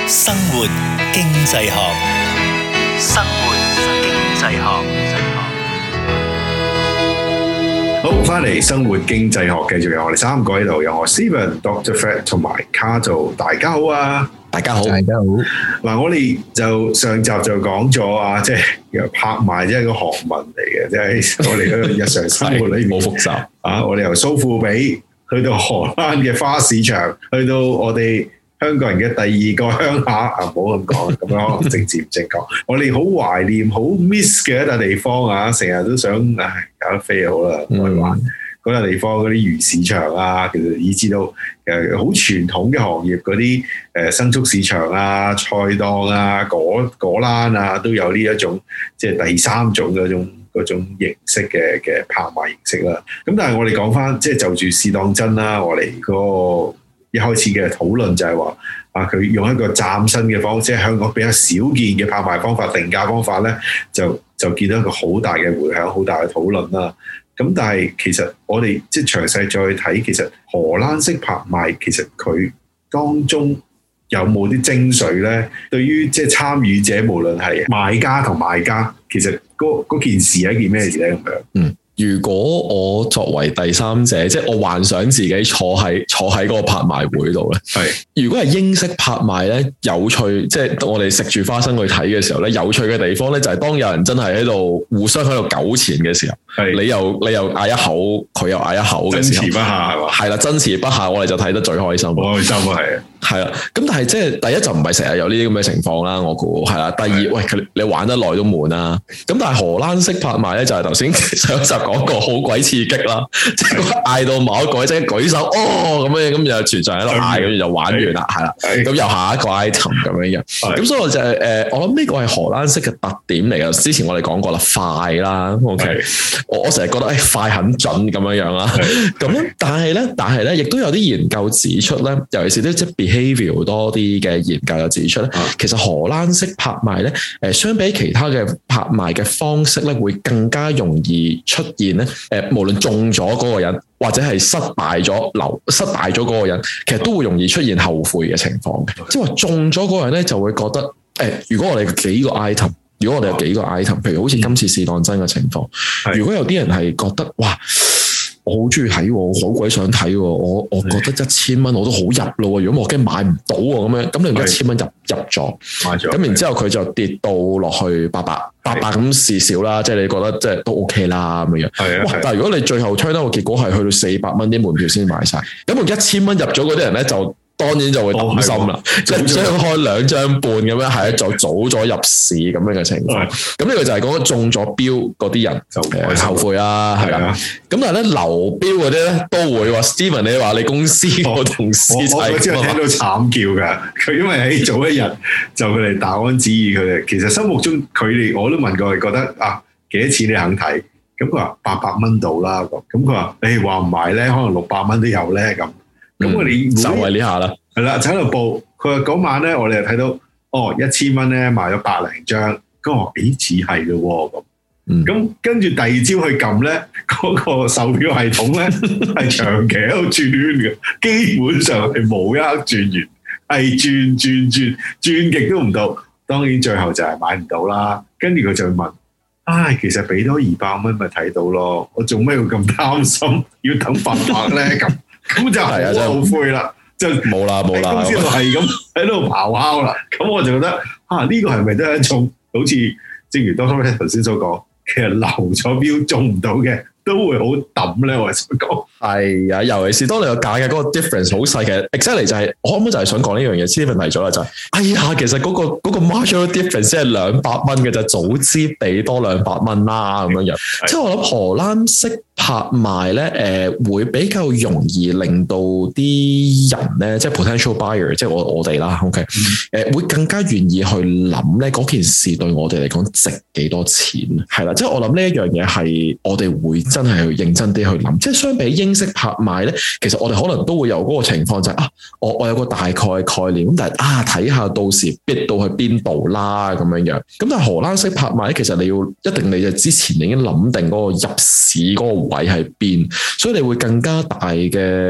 生活經濟學，生活經濟學。 好，翻嚟生活經濟學，繼續有我哋三個喺度，有我 Steven、Dr. Fred 同埋 Cato， 大家好啊！ 大家好，大家好。 嗱，我哋就上集就講咗啊，即係拍賣即係個學問嚟嘅，即係我哋嗰個日常生活裏面好複雜啊！我哋由蘇富比去到荷蘭嘅花市場，去到我哋香港人嘅第二個鄉下啊，唔好咁講，咁樣可能政治唔正確。我哋好懷念、好 miss 嘅一笪地方啊，成日都想搞得飛好啦，去玩嗰笪地方嗰啲魚市場啊，其實以至到好傳統嘅行業嗰啲牲畜市場啊、菜檔啊、果欄啊，都有呢一種即係第三種嗰種形式嘅拍賣形式啦。咁但係我哋講翻，即係就住試當真啦，我哋嗰個一開始嘅討論就係話佢用一個嶄新嘅方式，即係香港比較少見嘅拍賣方法、定價方法咧，就見到一個好大嘅迴響、好大嘅討論啦。咁但係其實我哋即係詳細再睇，其實荷蘭式拍賣其實佢當中有冇啲精髓咧？對於即係參與者，無論係買家同賣家，其實嗰件事係一件咩事咧？咁樣。 如果我作為第三者，即係我幻想自己坐喺嗰個拍賣會度咧，如果係英式拍賣咧，有趣，即係我哋食住花生去睇嘅時候咧，有趣嘅地方咧就係當有人真係喺度互相喺度糾纏嘅時候，你又嗌一口，佢又嗌一口嘅時候，爭持不下係嘛？係啦，爭持不下，我哋就睇得最開心。 開心啊， 係啦，咁但係即係第一就唔係成日有呢啲咁嘅情況啦，我估係啦。第二，喂，你玩得耐都悶啦。咁但係荷蘭式拍賣咧，就係頭先上集講過，好鬼刺激啦！即係嗌到某一個即係舉手哦咁樣，咁就全場喺度嗌，咁就玩完啦，係啦。咁又下一個 item 咁樣樣。咁所以我就我諗呢個係荷蘭式嘅特點嚟嘅。之前我哋講過啦，快啦 ，OK。我成日覺得快很準咁樣樣啦。咁但係咧，亦都有啲研究指出咧，尤其是啲即係behaviour 多啲嘅研究就指出咧，其實荷蘭式拍賣咧，相比其他嘅拍賣嘅方式咧，會更加容易出現咧。無論中咗嗰個人，或者係失敗咗嗰個人，其實都會容易出現後悔嘅情況嘅。即係話中咗嗰個人咧，就會覺得如果我哋有幾個 item，譬如好似今次試當真嘅情況，如果有啲人係覺得哇，我好中意睇，我好鬼想睇，我覺得1000蚊我都好入咯。如果我驚買唔到咁樣，咁你用1000蚊入咗，咁然之後佢就跌到落去800咁試少啦，即係你覺得即係都 OK 啦咁樣。哇！但係如果你最後推到個結果係去到400蚊啲門票先買晒，咁用1000蚊入咗嗰啲人咧就。當然就會擔心啦，即係將開2張半咁樣，係就早咗入市咁樣嘅情況。咁呢個就係講中咗標嗰啲人就後悔啦，係啦。咁但係咧流標嗰啲咧都會話 Steven， 你話你公司個同事我之後聽到慘叫㗎。佢因為喺早一日就佢哋大安旨意，佢哋其實心目中佢哋我都問過，佢覺得幾多錢你肯睇？咁佢話800蚊到啦。咁佢話你話唔買咧，可能600蚊都有咧咁。咁我哋就係呢下啦， 係啦，就喺度報。佢話嗰晚咧，我哋就睇到1000蚊咧賣咗100零張。咁我話似係咯咁。咁跟住第二朝去撳咧，嗰個售票系統咧係長期喺度轉嘅，基本上係冇一刻轉完，係轉極都唔到。當然最後就係買唔到啦。跟住佢就問：其實俾多200蚊咪睇到咯？我做咩要咁擔心？要等800咧咁？咁就係好後悔啦，就冇啦，公司度係咁喺度咆哮啦。咁我就覺得呢個係咪都係一種好似正如Dr. 頭先所講，其實流咗標中唔到嘅都會好抌咧。我係想講係啊，尤其是當你個價嘅嗰個 difference 好細，其實 exactly 就係我啱啱就係想講呢樣嘢。Steven 提咗啦，就係其實嗰個 marginal difference 係200蚊嘅，就早知俾多200蚊啦咁樣樣。即係我諗荷蘭式拍賣咧，會比較容易令到啲人咧，即係 potential buyer， 即係我哋啦 ，OK，會更加願意去諗咧嗰件事對我哋嚟講值幾多錢，係啦，即係我諗呢一樣嘢係我哋會真係去認真啲去諗，即係相比英式拍賣咧，其實我哋可能都會有嗰個情況就係我有個大概概念，咁但係睇下到時逼到去邊度啦咁樣樣，咁但係荷蘭式拍賣咧，其實你就之前已經諗定嗰個入市嗰個位喺邊，所以你會更加大嘅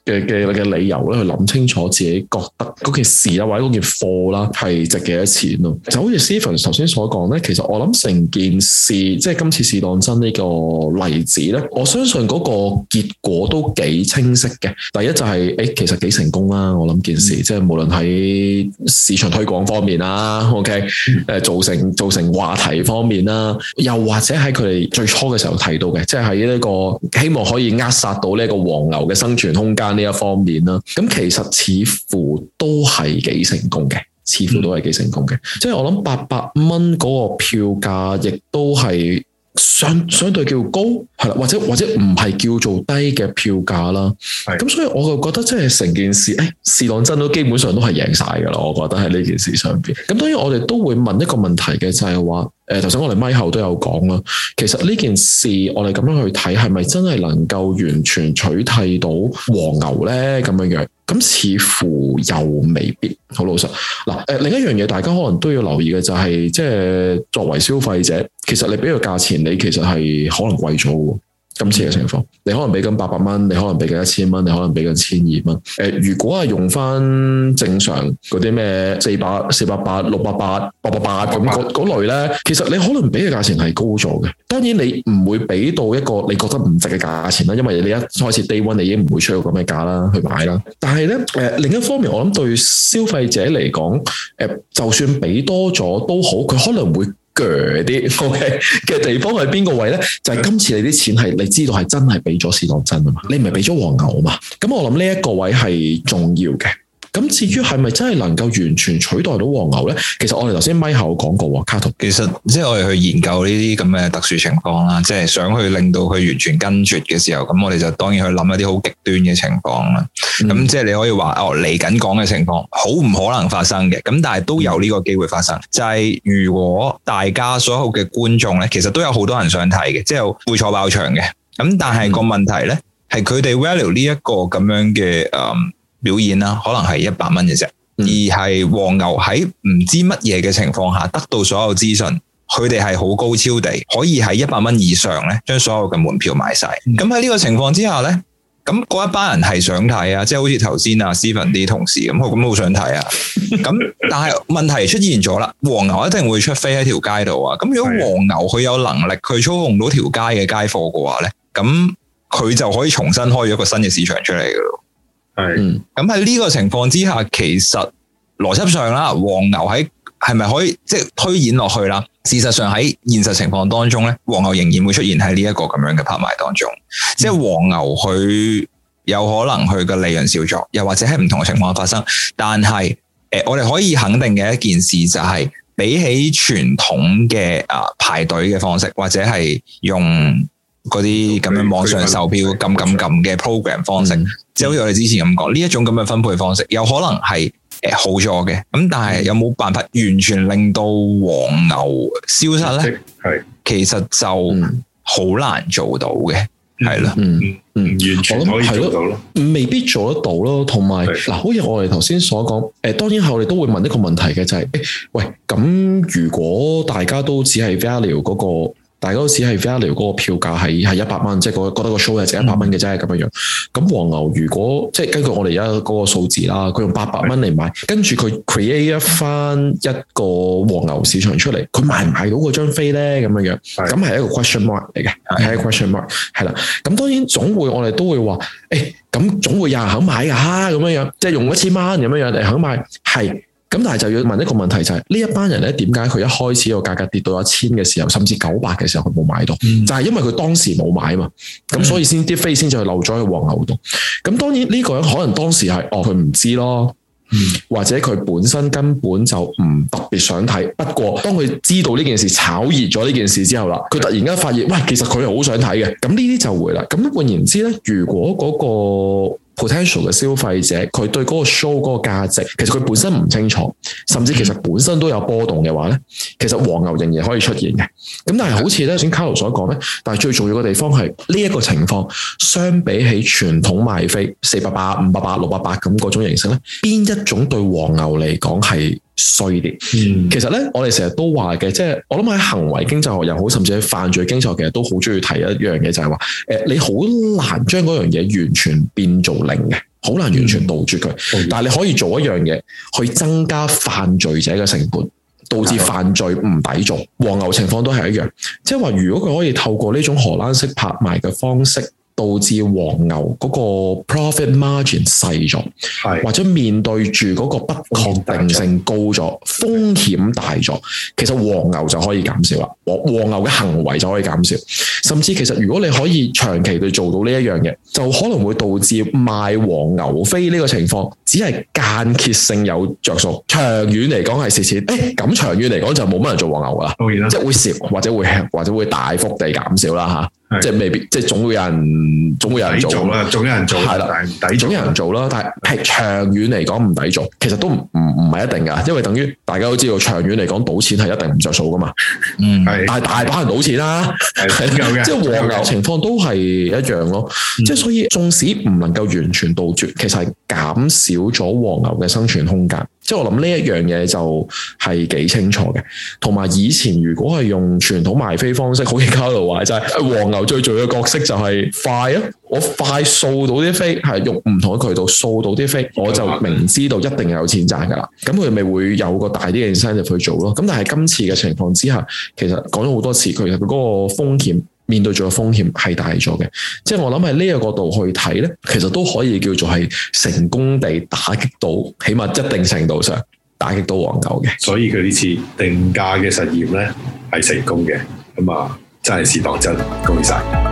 嘅理由咧，去諗清楚自己覺得嗰件事啦，或者嗰件貨啦係值幾多錢咯。就好似 Stephen 頭先所講咧，其實我諗成件事，即係今次試當真呢個例子咧，我相信嗰個結果都幾清晰嘅。第一就係其實幾成功啦，我諗件事即係無論喺市場推廣方面啦，OK， 造成話題方面啦，又或者喺佢哋最初嘅時候提到嘅，即係喺呢個希望可以扼殺到呢個黃牛嘅生存空間呢一方面啦，咁其實似乎都係幾成功嘅，即係我諗800蚊嗰個票價亦都係相對叫高，係啦，或者唔係叫做低嘅票價啦。咁所以我就覺得即係成件事，試當真都基本上都係贏晒㗎啦。我覺得喺呢件事上邊。咁當然我哋都會問一個問題嘅，就係話頭先我哋咪後都有講啦。其實呢件事我哋咁樣去睇，係咪真係能夠完全取締到黃牛咧？咁樣咁似乎又未必。好老實嗱，另一樣嘢大家可能都要留意嘅就係，即係作為消費者，其實你俾個價錢，你其實係可能貴咗喎。今次嘅情況，你可能俾緊800蚊，你可能俾緊1000蚊，你可能俾緊1200蚊。如果係用翻正常嗰啲咩400、480、680、888咁嗰類咧，其實你可能俾嘅價錢係高咗嘅。當然你唔會俾到一個你覺得唔值嘅價錢啦，因為你一開始 day one 你已經唔會出到咁嘅價啦去買啦。但係咧另一方面，我諗對消費者嚟講，就算俾多咗都好，佢可能會啲 OK 嘅地方係邊個位咧？就係今次你啲錢係你知道係真係俾咗試當真啊嘛，你唔係俾咗黃牛啊嘛。咁我諗呢一個位係重要嘅。咁至於係咪真係能夠完全取代到黃牛咧？其實我哋頭先咪後講過，卡圖其實即係我哋去研究呢啲咁嘅特殊情況啦，即係想去令到佢完全跟絕嘅時候，咁我哋就當然去諗一啲好極端嘅情況啦。咁即係你可以話嚟緊講嘅情況好唔可能發生嘅，咁但係都有呢個機會發生。就係如果大家所有嘅觀眾咧，其實都有好多人想睇嘅，即係會坐爆場嘅。咁但係個問題咧，係佢哋 value 呢一個咁樣嘅表演啦，可能係100蚊嘅啫，而係黃牛喺唔知乜嘢嘅情況下得到所有資訊，佢哋係好高超地可以喺100蚊以上咧，將所有嘅門票買晒。咁喺呢個情況之下咧，咁嗰一班人係想睇啊，即係好似頭先啊 Stephen 啲同事咁好想睇啊。咁但係問題出現咗啦，黃牛一定會出飛喺條街度啊。咁如果黃牛佢有能力去操控到條街嘅街貨嘅話咧，咁佢就可以重新開咗一個新嘅市場出嚟噶咯。咁喺呢個情況之下，其實邏輯上啦，黃牛係咪可以即係推演落去啦？事實上喺現實情況當中咧，黃牛仍然會出現喺呢一個咁樣嘅拍賣當中。即係黃牛佢有可能佢嘅利潤少咗，又或者喺唔同嘅情況發生。但係我哋可以肯定嘅一件事就係，比起傳統嘅排隊嘅方式，或者係用嗰啲咁樣網上售票撳嘅 program 方式，即係好似我哋之前咁講，呢一種咁嘅分配方式，有可能係好咗嘅。咁但係有冇辦法完全令到黃牛消失咧？其實就好難做到嘅，係啦， 完全可以做到咯， 未必做得到咯。同埋嗱，好似我哋頭先所講，當然我哋都會問一個問題嘅，就係喂，咁如果大家都只係 value 嗰個。大家都只係 value 嗰個票價係100蚊，即係覺得個 show 係值100蚊嘅啫咁樣樣。咁黃牛如果即係根據我哋而家嗰個數字啦，佢用800蚊嚟買，跟住佢 create 翻一個黃牛市場出嚟，佢買唔買到嗰張飛咧？咁樣樣，咁係一個 question mark 嚟嘅，係一個 question mark 係啦。咁當然總會我哋都會話，咁總會有人肯買㗎咁樣樣，即係用1000蚊咁樣樣嚟肯買係。咁但係就要問一個問題，就係呢一班人咧，點解佢一開始個價格跌到1000嘅時候，甚至900嘅時候佢冇買到？就係因為佢當時冇買嘛，咁所以先啲飛先至漏咗去黃牛度。咁當然呢個人可能當時係佢唔知咯，或者佢本身根本就唔特別想睇。不過當佢知道呢件事炒熱咗呢件事之後啦，佢突然間發現，喂，其實佢係好想睇嘅。咁呢啲就會啦。咁換言之咧，如果嗰個potential 嘅消費者，佢對嗰個 show 嗰個價值，其實佢本身唔清楚，甚至其實本身都有波動嘅話咧，其實黃牛仍然可以出現嘅。咁但係好似咧，頭先 Carlo 所講咧，但係最重要嘅地方係呢一個情況，相比起傳統賣飛480、580、680咁嗰種形式咧，邊一種對黃牛嚟講係衰啲？其實咧，我哋成日都話嘅，即係我諗喺行為經濟學又好，甚至喺犯罪經濟學，其實都好中意提一樣嘢，就係話，你好難將嗰樣嘢完全變做零嘅。 好難完全杜絕佢。但係你可以做一樣嘢，去增加犯罪者嘅成本，導致犯罪唔抵做。黃牛情況都係一樣，即係話如果佢可以透過呢種荷蘭式拍賣嘅方式，導致黃牛嗰個 profit margin 細咗，或者面對住嗰個不確定性高咗，風險大咗，其實黃牛就可以減少啦。黃牛嘅行為就可以減少，甚至其實如果你可以長期地做到呢一樣嘢，就可能會導致賣黃牛飛呢個情況只係間歇性有着數，長遠嚟講係蝕錢。咁長遠嚟講就冇乜人做黃牛噶啦，即係會蝕或者會大幅地減少啦嚇。即係未必，即係總會有人做啦，總有人做係啦，總有人做啦。但係長遠嚟講唔抵做，其實都唔係一定㗎，因為等於大家都知道，長遠嚟講賭錢係一定唔着數㗎嘛。但係大把人賭錢啦，即係黃牛情況都係一樣咯。即係所以，縱使唔能夠完全杜絕，其實係減少咗黃牛嘅生存空間。即係我諗呢一樣嘢就係幾清楚嘅，同埋以前如果係用傳統賣飛方式，好似卡路話齋，黃牛最重要嘅角色就係快啊！我快掃到啲飛，係用唔同嘅渠道掃到啲飛，我就明知道一定有錢賺噶啦。咁佢咪會有個大啲嘅 incentive 去做咯。咁但係今次嘅情況之下，其實講咗好多次，其實佢嗰個風險面對住嘅風險係大咗嘅。即係我諗喺呢個角度去睇咧，其實都可以叫做係成功地打擊到，起碼一定程度上打擊到黃牛嘅。 所以佢呢次定價嘅實驗咧係成功嘅，咁啊真係試當真，恭喜晒！